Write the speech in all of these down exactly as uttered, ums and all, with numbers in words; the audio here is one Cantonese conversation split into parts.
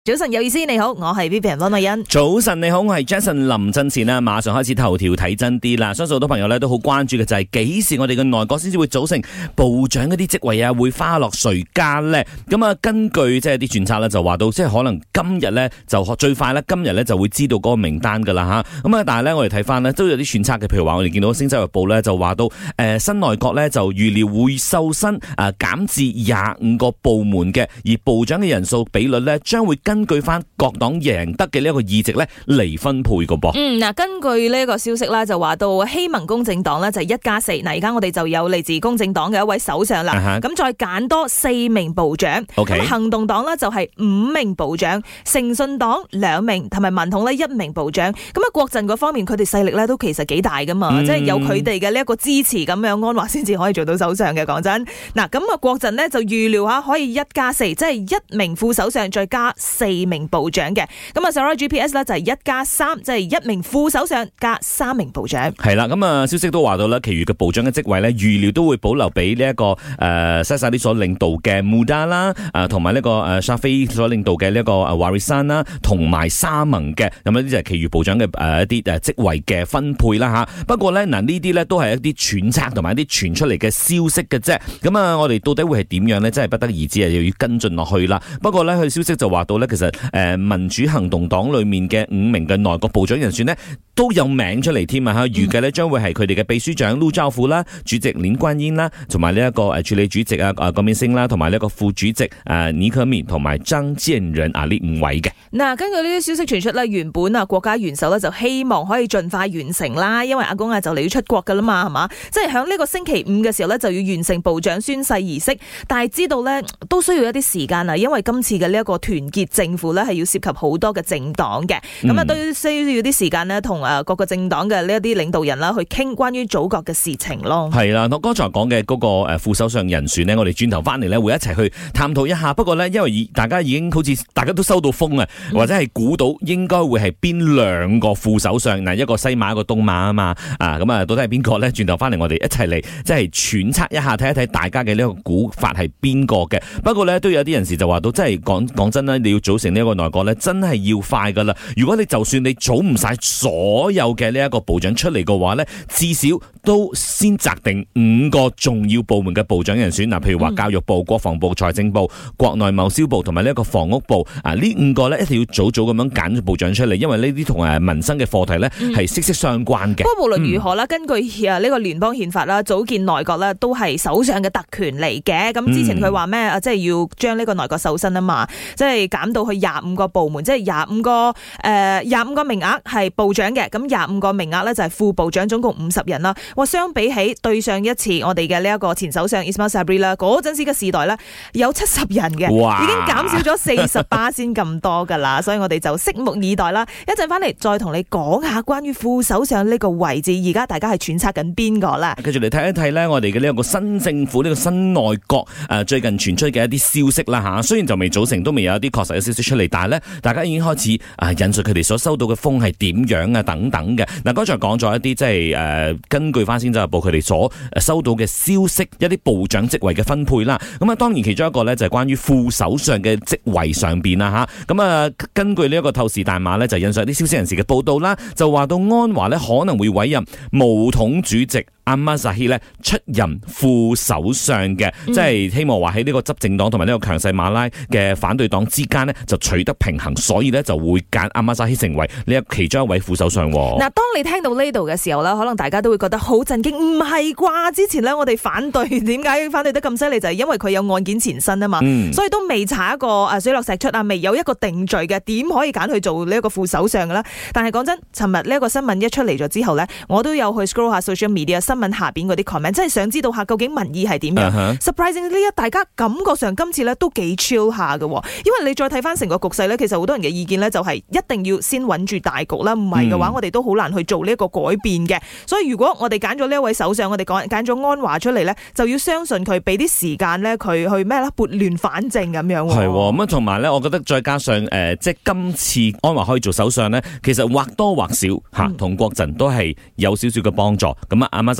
早晨有意思，你好，我係 Vivian 溫麗欣。 早晨你好，我係 Jason 林振前啦。馬上開始頭條睇真啲啦。相信好多朋友咧都好關注嘅就係幾時我哋嘅內閣先至會組成部長嗰啲職位啊，會花落誰家呢？咁啊，根據即係啲揣測咧，就話到即係可能今日咧就最快咧，今日咧就會知道嗰個名單噶啦吓。咁啊，但係咧我哋睇翻呢都有啲揣測嘅，譬如話我哋見到《星洲日報》咧就話到誒、呃、新內閣咧就預料會瘦身啊，減至廿五個部門嘅，而部長嘅人數比率咧將會根據翻各黨贏得嘅呢一個議席咧嚟分配嘅噃。 嗯，嗱，根據呢個消息啦，就話到希盟公正黨咧就係一加四。嗱，而家我哋就有嚟自公正黨嘅一位首相啦。咁、uh-huh. 再揀多四名部長。 Okay. 咁行動黨咧就係五名部長，誠信黨兩名，同埋民統咧一名部長。咁啊，國陣嗰方面佢哋勢力咧都其實幾大噶嘛，嗯、即係有佢哋嘅呢一個支持咁樣，安華先至可以做到首相嘅。講真，嗱，咁啊國陣呢就預料下可以一加四，即係一名副首相再加四名部長嘅。咁啊 Sarawak G P S 咧就係一加三，即係一名副首相加三名部長。 係啦，咁啊消息都話到啦，其餘嘅部長嘅職位咧預料都會保留俾呢一個誒西沙啲所領導嘅 Muda 啦，誒同埋呢個誒沙菲所領導嘅呢一個誒 Warisan 啦，同埋沙盟嘅，咁呢啲就係其餘部長嘅誒一啲誒職位嘅分配啦吓。不過咧嗱呢啲咧都係一啲揣測同埋一啲傳出嚟嘅消息嘅啫。咁啊我哋到底會係點樣咧？真係不得而知啊，又要跟進落去啦。不過咧佢消息就話到咧，其實誒民主行動黨裏面嘅五名嘅內閣部長人選呢，都有名出嚟添啊！吓，預計呢將會係佢哋嘅秘書長陸兆福啦、主席林冠英啦，同埋呢一個誒處理主席啊啊郭明星啦，同埋呢一個副主席誒倪可敏同埋張建仁啊呢五位嘅。 嗱，根據呢啲消息傳出咧，原本啊國家元首咧就希望可以盡快完成啦，因為阿公啊就嚟要出國噶啦嘛，係嘛？即係響呢個星期五嘅時候咧就要完成部長宣誓儀式，但係知道咧都需要一啲時間啊，因為今次嘅呢一個團結政府咧係要涉及好多嘅政黨嘅，咁啊都需要啲時間呢，同誒各個政黨嘅呢一啲領導人啦去傾關於祖國嘅事情咯。係啦，我剛才講嘅嗰個誒副首相人選呢，我哋轉頭翻嚟咧會一齊去探討一下。不過呢，因為大家已經好似大家都收到風啊，或者係估到應該會係邊兩個副首相嗱，一個西馬一個東馬啊嘛，啊咁啊到底係邊個呢？轉頭翻嚟我哋一齊嚟即係揣測一下，睇一睇大家嘅呢個估法係邊個嘅。不過呢，都有啲人士就話到，真係講講真啦，你要組成呢一個內閣呢，真係要快噶啦。如果你就算你組唔晒所有嘅呢一個部長出嚟嘅話呢，至少都先擇定五個重要部門嘅部長人選嗱，譬如話教育部、國防部、財政部、國內貿銷部同埋呢一個房屋部啊，呢五個呢一定要早早咁樣揀部長出嚟，因為呢啲同誒民生嘅課題呢係息息相關嘅。不過無論如何啦，根據啊呢個聯邦憲法啦，組建內閣呢都係首相嘅特權嚟嘅。咁之前佢話咩啊，即係要將呢個內閣瘦身啊嘛，即係減到去廿五個部門，即係廿五個誒廿五個名額係部長嘅，咁廿五個名額咧就係副部長，總共五十人啦。哇，相比起對上一次我哋嘅呢一個前首相 Ismail Sabri 啦，嗰陣時嘅時代咧有七十人嘅，已經減少咗四十八先咁多噶啦，所以我哋就拭目以待啦。一陣翻嚟再同你講下關於副首相呢個位置，而家大家係揣測緊邊個啦。繼續嚟睇一睇咧，我哋嘅呢一個新政府呢、呢個新內閣誒最近傳出嘅一啲消息啦吓，雖然就未組成，都未有一啲確實嘅消息出嚟，但係咧大家已經開始啊引述佢哋所收到嘅風係點樣啊等等嘅。嗱，剛才講咗一啲即係誒根據翻《星洲日報》佢哋所收到嘅消息，一啲部長職位嘅分配啦。咁啊，當然其中一個咧就係關於副首相嘅職位上邊啦吓。咁啊，根據呢一個透視大馬咧，就引述一啲消息人士嘅報道啦，就話到安華咧可能會委任巫統主席Ahmad Zahid 咧出任副首相嘅，即係希望話喺呢個執政黨同埋呢個強勢馬拉嘅反對黨之間呢就取得平衡，所以呢就會揀 Ahmad Zahid 成為呢一其中一位副首相。嗱，當你聽到呢度嘅時候呢，可能大家都會覺得好震驚，唔係啩？之前呢，我哋反對，點解反對得咁犀利？就係因為佢有案件纏身啊嘛、嗯，所以都未查一個誒水落石出啊，未有一個定罪嘅，點可以揀去做呢一個副首相嘅咧？但係講真，尋日呢一個新聞一出嚟咗之後呢，我都有去 scroll 下 social media 新聞下邊嗰啲 comment， 真係想知道下究竟民意係點樣。Uh-huh. Surprisingly 呢，大家感覺上今次咧都幾 chill 下嘅，因為你再睇翻成個局勢咧，其實好多人嘅意見咧就係一定要先穩住大局啦，唔係嘅話、嗯、我哋都好難去做呢一個改變嘅。所以如果我哋揀咗呢一位首相，我哋講揀咗安華出嚟咧，就要相信佢，俾啲時間咧佢去咩啦，撥亂反正咁樣。係咁啊，同埋咧，我覺得再加上誒、呃，即係今次安華可以做首相咧，其實或多或少吓同、嗯、國陣都係有少少嘅幫助。咁啊，阿馬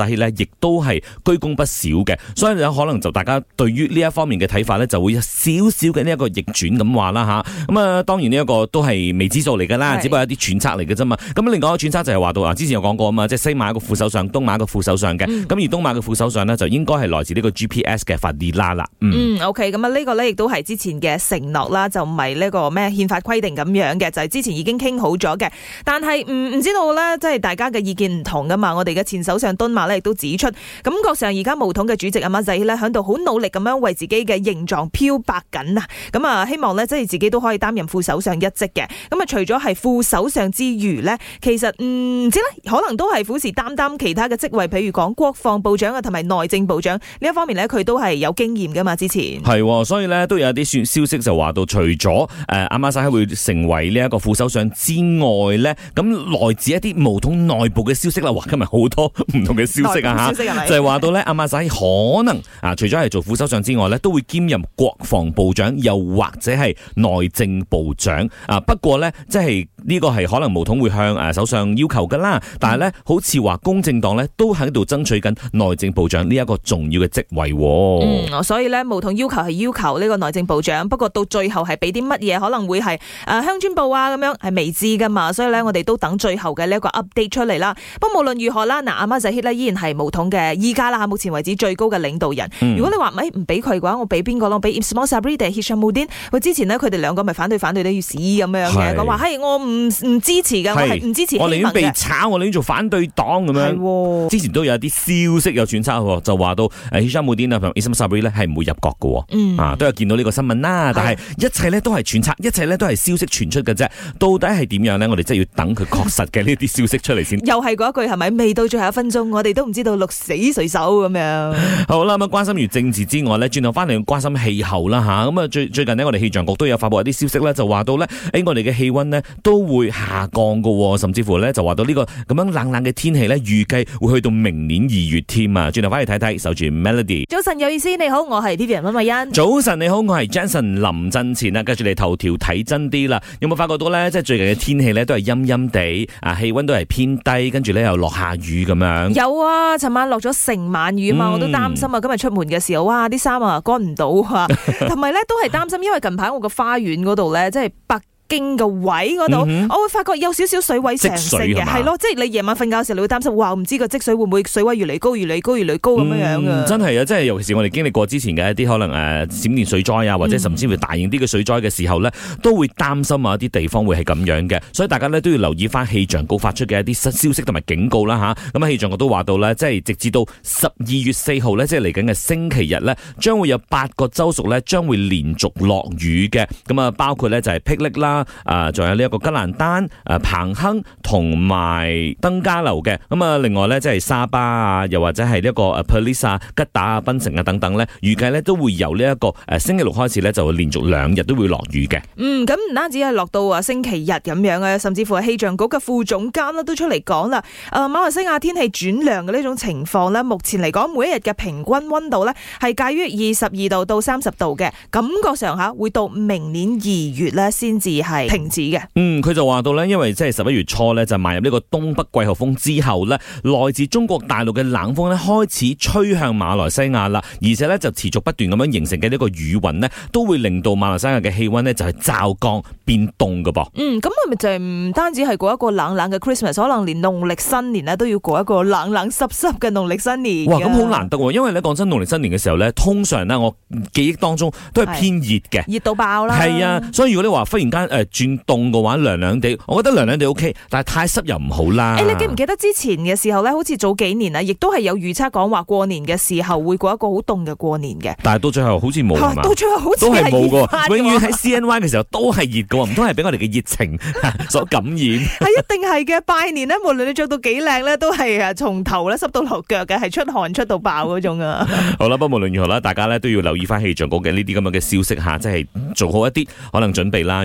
薩希咧，亦都係居功不少嘅，所以有可能就大家對於呢一方面嘅睇法咧，就會有少少嘅呢一個逆轉咁話啦吓。咁啊，當然呢一個都係未知數嚟噶啦，只不過係一啲揣測嚟嘅啫嘛。咁另外一個揣測就係話到啊，之前有講過啊嘛，即係西馬一個副首相，東馬一個副首相嘅。咁、嗯、而東馬嘅副首相呢，就應該係來自呢個 G P S 嘅法迪拉啦。 嗯, 嗯，OK，咁啊呢個咧亦都係之前嘅承諾啦，就唔係呢個咩憲法規定咁樣嘅，就係、是、之前已經傾好咗嘅。但係唔唔知道咧，即係大家嘅意見唔同噶嘛。我哋嘅前首相敦馬咧亦都指出，感覺上而家巫統嘅主席阿馬仔咧響度好努力咁樣為自己嘅形狀漂白緊啊。咁啊，希望咧即係自己都可以擔任副首相一職嘅。咁啊，除咗係副首相之餘咧，其實唔知咧，可能都係虎視眈眈其他嘅職位，譬如講國防部長啊，同埋內政部長呢一方面咧，佢都係有經驗噶嘛。之前係，所以咧都有一啲消息就話到，除咗誒阿馬薩希會成為呢一個副首相之外咧，咁來自一啲巫統內部嘅消息啦，哇，今日好多唔同嘅消息啊吓，就係話到咧阿馬薩希可能啊，除咗係做副首相之外咧，都會兼任國防部長，又或者係內政部長啊。不過咧，即係呢個係可能巫統會向誒首相要求噶啦，但係咧好似話公正黨咧都喺度爭取緊內政部長呢一個重要嘅職位。 嗯，所以咧巫統要求係要求呢個內政部長，不過到最後係俾啲乜嘢，可能會係誒鄉村部啊咁樣，係未知噶嘛。所以咧我哋都等最後嘅呢一個 update 出嚟啦。不過無論如何啦，嗱阿馬扎希咧依然係巫統嘅依家啦，目前為止最高嘅領導人。嗯、如果你話咪唔俾佢嘅話，我俾邊個咯？俾 Ismail Sabri 定 Hishammuddin？ 佢之前呢，佢哋兩個咪反對反對都要死咁樣嘅，講話係我唔唔支持嘅，我係唔支持希盟嘅。我寧願被炒，我寧願做反對黨咁樣。係， 之前都有啲消息有揣測，就話到 Hishammuddin 啊同 Ismail Sabri 咧係唔會入閣嘅。嗯，啊都有見到呢個新聞啦，但係一切咧都係揣測，一切咧都係消息傳出嘅啫。到底係點樣咧？我哋真係要等佢確實嘅呢啲消息出嚟先。又係嗰一句係咪？未到最後一分鐘，我哋都唔知道鹿死誰手咁樣。好啦，咁關心完政治之外咧，轉頭翻嚟關心氣候啦吓。咁啊最最近呢，我哋氣象局都有發布一啲消息咧，就話到咧，誒我哋嘅氣溫呢都會下降噶，甚至乎咧就話到呢個咁樣冷冷嘅天氣咧，預計會去到明年二月添啊。轉頭翻嚟睇睇，守住 Melody。早晨有意思，你好，我係 Vivian 溫慧欣。早晨你好，我係 Jason 林振前啊。跟住嚟頭條睇真啲啦，有冇發覺到咧？即係最近嘅天氣咧都係陰陰地啊，氣溫都係偏低，跟住咧又落下雨咁樣。有啊，尋晚落咗成晚雨啊嘛，嗯、我都擔心啊。今日出門嘅時候，哇，啲衫啊乾唔到啊，同埋咧都係擔心，因為近排我個花園嗰度咧，即係北經嘅位嗰度，嗯、我會發覺有少少水位上升嘅，係咯，即係你夜晚瞓覺嘅時候，你會擔心，哇，唔知個積水會唔會水位越嚟高，越嚟高，越嚟高咁樣樣啊！真係啊，即係尤其是我哋經歷過之前嘅一啲可能誒、呃、閃電水災啊，或者甚至乎大型啲嘅水災嘅時候咧，嗯、都會擔心啊一啲地方會係咁樣嘅，所以大家咧都要留意翻氣象局發出嘅一啲新消息同埋警告啦吓。咁啊，氣象局都話到咧，即係直至到十二月四號咧，即係嚟緊嘅星期日咧，將會有八個州屬咧將會連續落雨嘅。咁啊，包括咧就係霹靂啦，啊，仲有呢一個吉蘭丹、誒彭亨同埋登嘉樓嘅，咁啊另外咧即係沙巴啊，又或者係呢一個誒 Perlis 啊、吉打啊、檳城啊等等咧，預計咧都會由呢一個誒星期六開始咧就會連續兩日都會落雨嘅。嗯，咁唔單止係落到啊星期日咁樣啊，甚至乎係氣象局嘅副總監啦都出嚟講啦，誒馬來西亞天氣轉涼嘅呢種情況咧，目前嚟講每一日嘅平均溫度咧係介於二十二度到三十度嘅，感覺上下會到明年二月咧先至係停止嘅。嗯，佢就話到咧，因為即係十一月初咧就邁入呢個東北季候風之後咧，來自中國大陸嘅冷鋒咧開始吹向馬來西亞啦，而且咧就持續不斷咁樣形成嘅呢個雨雲咧，都會令到馬來西亞嘅氣溫咧就係驟降變凍㗎噃。嗯，咁係咪就係唔單止係過一個冷冷嘅 Christmas， 可能連農曆新年咧都要過一個冷冷濕濕嘅農曆新年。哇，咁好難得喎，因為咧講真，農曆新年嘅時候咧，通常咧我記憶當中都係偏熱嘅，熱到爆啦。係啊，所以如果你話忽然間誒轉凍嘅話，涼涼地，我覺得涼涼地 OK， 但係太濕又唔好啦。誒、欸，你記唔記得之前嘅時候咧，好似早幾年啊，亦都係有預測講話過年嘅時候會過一個好凍嘅過年嘅。但係到最後好似冇係嘛？到最後好似都係冇嘅，永遠喺 C N Y 嘅時候都係熱嘅，唔通係俾我哋嘅熱情所感染？係一定係嘅，拜年咧，無論你着到幾靚咧，都係啊從頭咧濕到落腳嘅，係出汗出到爆嗰種啊。好啦，不過無論如何啦，大家咧都要留意翻氣象局嘅呢啲咁樣嘅消息吓，即係做好一啲可能準備啦。如果你話落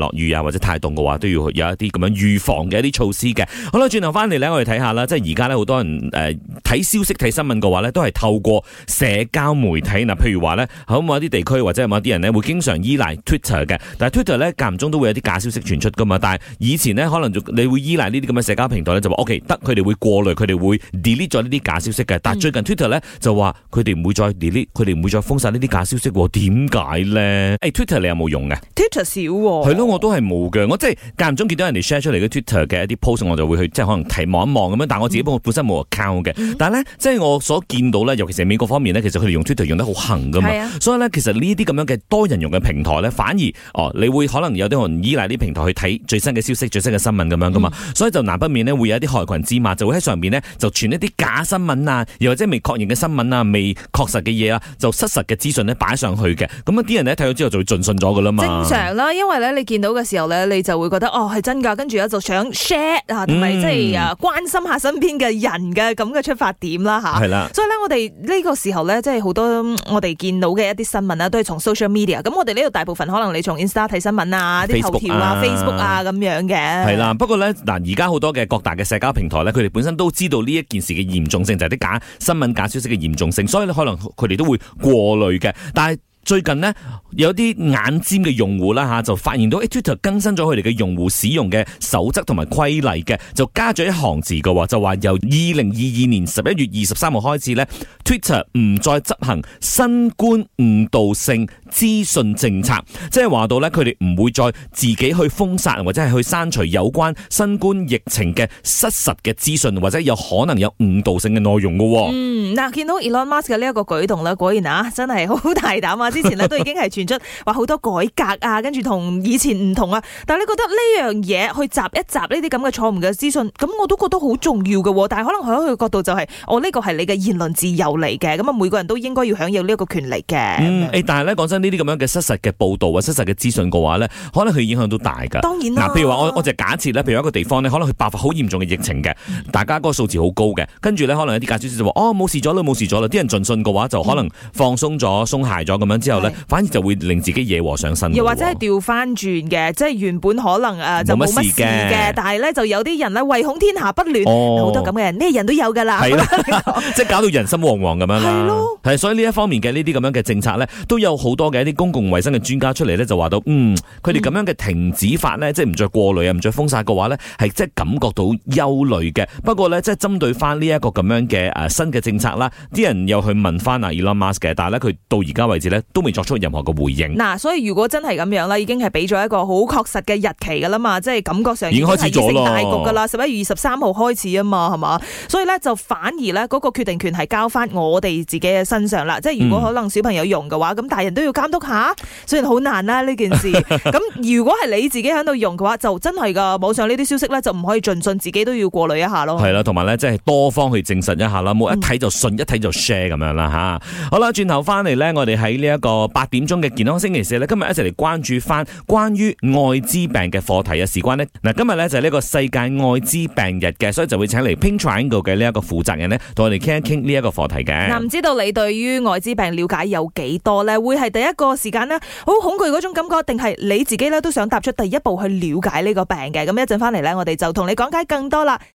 落雨啊或者太凍嘅話，都要有一啲咁樣預防嘅一啲措施嘅。好啦，轉頭翻嚟咧，我哋睇下啦，即係而家咧好多人誒睇、呃、消息睇新聞嘅話咧，都係透過社交媒體嗱，譬如話咧，喺某一啲地區或者係某一啲人咧會經常依賴 Twitter 嘅，但係 Twitter 咧間唔中都會有啲假消息傳出噶嘛。但係以前咧可能你會依賴呢啲咁嘅社交平台咧，就話 OK 得，佢哋會過濾，佢哋會 delete 咗呢啲假消息嘅。但係最近 Twitter 咧就話佢哋唔會再 delete，佢哋唔會再封殺呢啲假消息。點解咧？誒、欸、Twitter 你有冇用嘅 ？Twitter 少喎。係咯，我都係冇嘅。我即係間唔中見到人哋 share 出嚟嘅 Twitter 嘅一啲 post，我就會去即係可能睇望一望咁樣。但係我自己本身冇 account 嘅。嗯、但係咧，即係我所見到咧，尤其是美國方面咧，其實佢哋用 Twitter 用得好行噶嘛。啊、所以咧，其實呢啲咁樣嘅多人用嘅平台咧，反而哦，你會可能有啲人依賴啲平台去睇最新嘅消息、最新嘅新聞咁樣噶嘛。嗯、所以就難不免咧會有一啲害群之馬，就會喺上面咧就傳一啲假新聞啊，又或者未確認嘅新聞啊、未確實嘅嘢啊，就失實嘅資訊咧擺上去嘅。咁啊啲人咧睇到之後就會盡信咗噶啦嘛。正常啦，因為咧你見到嘅時候咧，你就會覺得哦係真㗎，跟住咧就想 share 啊，同埋即係啊關心下身邊嘅人嘅咁嘅出發點啦嚇。係啦，所以咧我哋呢個時候咧，即係好多我哋見到嘅一啲新聞啦，都係從 social media。咁我哋呢度大部分可能你從 Insta 睇新聞啊、啲頭條啊、Facebook 啊咁樣嘅。 係啦，不過咧嗱，而家好多嘅各大嘅社交平台咧，佢哋本身都知道呢一件事嘅嚴重性，就係啲假新聞、假消息嘅嚴重性，所以咧可能佢哋都會過濾嘅，但係最近呢，有啲眼尖嘅用戶啦吓，就發現到 Twitter 更新咗佢哋嘅用戶使用嘅守則同埋規例嘅，就加咗一行字嘅，就話由二零二二年十一月二十三號開始呢 Twitter 唔再執行新冠誤導性資訊政策，即係話到呢，佢哋唔會再自己去封殺或者係去刪除有關新冠疫情嘅失實嘅資訊，或者有可能有誤導性嘅內容嘅。 嗯，嗱，見到 Elon Musk 嘅呢一個舉動咧，果然啊，真係好大膽啊！之前咧都已經係傳出話好多改革啊，跟住同以前唔同啊。但係你覺得呢樣嘢去集一集呢啲咁嘅錯誤嘅資訊，咁我都覺得好重要嘅。但係可能喺佢嘅角度就係、是，我呢個係你嘅言論自由嚟嘅，咁啊每個人都應該要享有呢一個權利嘅。嗯，誒，但係咧講真，呢啲咁樣嘅失實嘅報導啊、失實嘅資訊嘅話咧，可能佢影響都大㗎。當然啦。嗱，譬如話我我就假設咧，譬如一個地方咧，可能佢爆發好嚴重嘅疫情嘅，大家嗰個數字好高嘅，跟住咧可能有啲假消息就話哦冇事咗啦，冇事咗啦，啲人盡信嘅話就可能放鬆咗、鬆懈咗咁樣之後咧，反而就會令自己惹禍上身。又或者係調翻轉嘅，即係原本可能誒就冇乜事嘅，但係咧就有啲人咧唯恐天下不亂，好、哦、多咁嘅人，咩人都有㗎啦。係啦，即係搞到人心惶惶咁樣啦。係咯，係所以呢一方面嘅呢啲咁樣嘅政策咧，都有好多嘅一啲公共衛生嘅專家出嚟咧，就話到嗯，佢哋咁樣嘅停止法咧，即係唔再過濾啊，唔再封殺嘅話咧，係即係感覺到憂慮嘅。不過咧，即係針對翻呢一個咁樣嘅誒新嘅政策啦，啲人又去問翻啊 Elon Musk 嘅，但係咧佢到而家為止咧都未作出任何嘅回應。嗱，所以如果真係咁樣啦，已經係俾咗一個好確實嘅日期噶啦嘛，即係感覺上已經開始咗大局噶啦，十一月二十三號開始啊嘛，係嘛，所以咧就反而咧嗰個決定權係交翻我哋自己嘅身上啦。即係如果可能小朋友用嘅話，咁、嗯、大人都要監督下，雖然好難啦呢件事。咁如果係你自己喺度用嘅話，就真係噶網上呢啲消息咧就唔可以盡信，自己都要過濾一下咯。係啦，同埋咧即係多方去證實一下啦，冇一睇就信，嗯、一睇就 share 咁樣啦吓。好啦，轉頭翻嚟咧，我哋喺呢一個八點鐘嘅健康星期四咧，今日一齊嚟關注翻關於愛滋病嘅課題啊！事關呢，嗱，今日咧就係呢個世界愛滋病日嘅，所以就會請嚟 Pink Triangle 嘅呢一個負責人呢，同我哋傾一傾呢一個課題嘅。嗱，唔知道你對於愛滋病了解有幾多咧？會係第一個時間呢，好恐懼嗰種感覺，定係你自己咧都想踏出第一步去了解呢個病嘅？咁一陣翻嚟咧，我哋就同你講解更多啦。